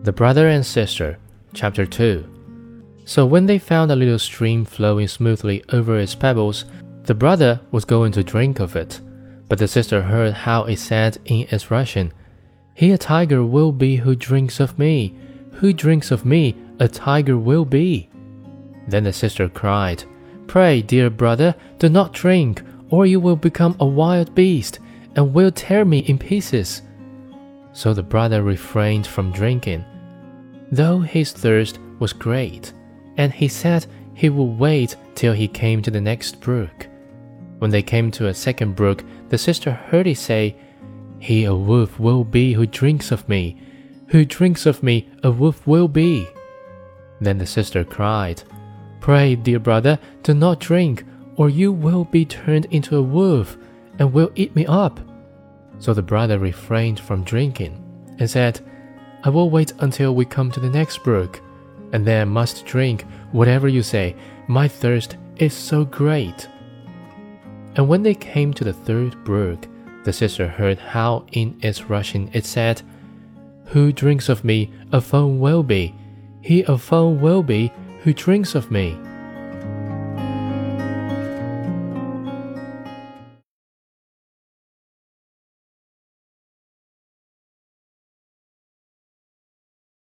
The Brother and Sister, Chapter 2. So when they found a little stream flowing smoothly over its pebbles, the brother was going to drink of it. But the sister heard how it said in its Russian, "He a tiger will be who drinks of me. Who drinks of me, a tiger will be." Then the sister cried, "Pray, dear brother, do not drink, or you will become a wild beast, and will tear me in pieces." So the brother refrained from drinking, though his thirst was great, and he said he would wait till he came to the next brook. When they came to a second brook, the sister heard it say, "He a wolf will be who drinks of me. Who drinks of me, a wolf will be." Then the sister cried, "Pray, dear brother, do not drink, or you will be turned into a wolf, and will eat me up." So the brother refrained from drinking, and said, "I will wait until we come to the next brook, and then I must drink whatever you say. My thirst is so great." And when they came to the third brook, the sister heard how in its Russian it said, "Who drinks of me, a foam will be. He a foam will be who drinks of me."